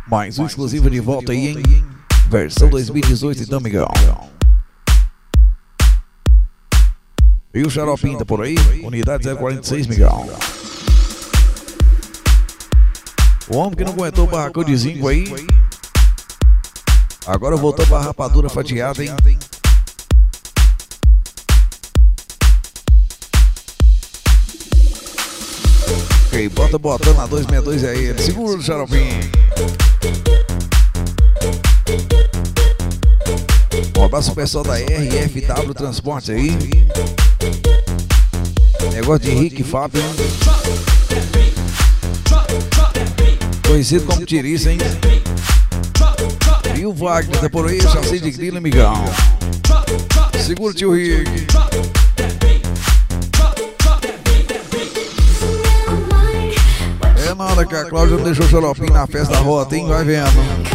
Mais um exclusivo de volta aí, hein? Versão 2018, então, Miguel. E o Xaropinho tá por aí? Unidade 046, Miguel. O homem que não aguentou o barracão de zinco aí, agora voltou pra rapadura fatiada, hein? Ok, bota botando na 262 aí, segura o Xaropinho. Um abraço pro pessoal da RFW Transporte aí. Negócio de Rick Fábio, hein? Conhecido como Tiriça, hein? E o Wagner tá por aí, chassi de grilo, amigão. Segura o tio Rick. É na hora que a Cláudia não deixou o Xaropinho na festa da rota, hein? Vai vendo.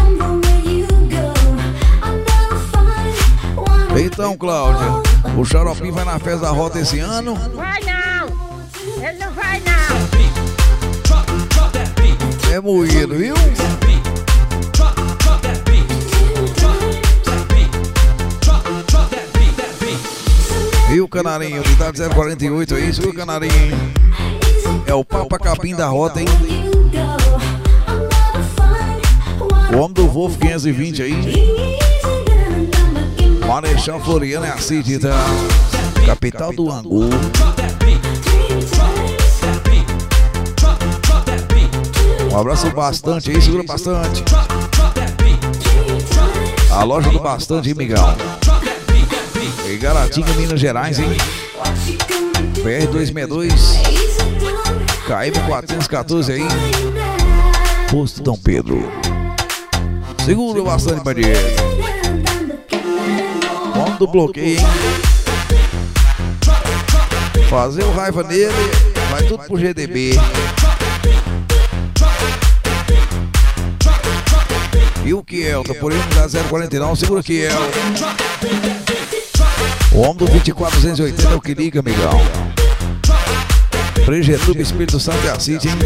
Então, Cláudia, o Xaropinho vai na festa da rota esse ano? Vai não! Ele não vai não! É moído, viu? E o Canarinho, unidade 048 aí, isso, o Canarinho. É o Papa Capim da rota, hein? O homem do Wolf 520 aí. Marechal Floriano é a City, tá? Capital do Angu. Um abraço bastante aí, segura bastante. A loja do Bastante, hein, Miguel? E Garatinga, Minas Gerais, hein? PR 262 KM 414 aí. Posto Dom Pedro. Segura bastante, bandido. Vamos do bloqueio, hein? Fazer o raiva nele, vai tudo pro GDB. E o Kiel, tá por aí, unidade 049, segura o Kiel. O homem do 24280 é o que liga, amigão. Pregetube Espírito Santo é a City, hein?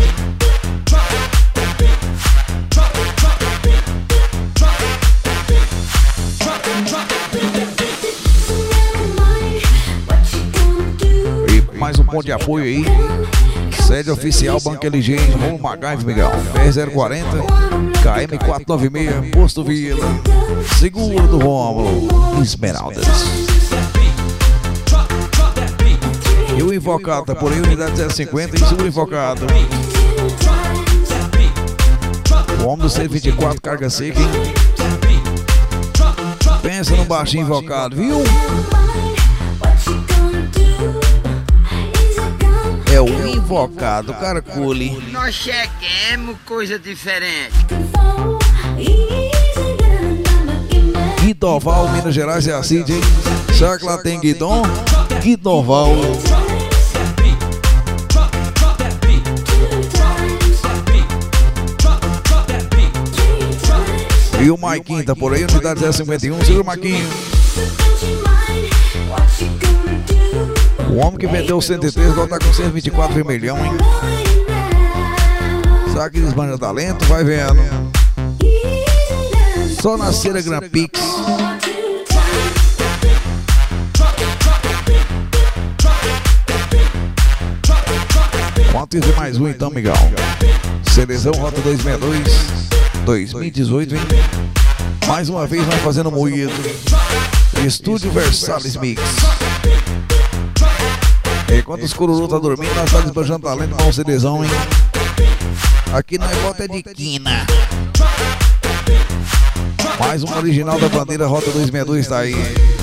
E mais um ponto de apoio aí. Sede oficial Banco LG, Rômulo Magaive, Miguel. PR040, KM 496, Posto Vila. Seguro do Rômulo, Esmeraldas. E o Invocado, tá por aí, unidade 050, e seguro Invocado. O homem do 124, carga seca, hein? Pensa no baixinho Invocado, viu? É o Invocado, Carcule. Nós cheguemos coisa diferente. Guidoval, Minas Gerais é a Cid, hein? Será que lá tem Guidon? Guidoval. E o Maiquinho tá por aí, unidade 051, segura o Maiquinho. O homem que vendeu o 103, agora tá com 124 vermelhão, hein? Será que desbanja talento? Vai vendo. Só na cera Grand Pix. Quanto isso mais um então, Miguel? Seleção Rota 262 2018, hein? Mais uma vez nós fazendo moído. Estúdio Versalhes Mix. Enquanto os cururu tá dormindo, nós tá desbanjando talento com um CDzão, hein? Aqui não é bota, é de quina. Mais um original da bandeira Rota 262 tá aí.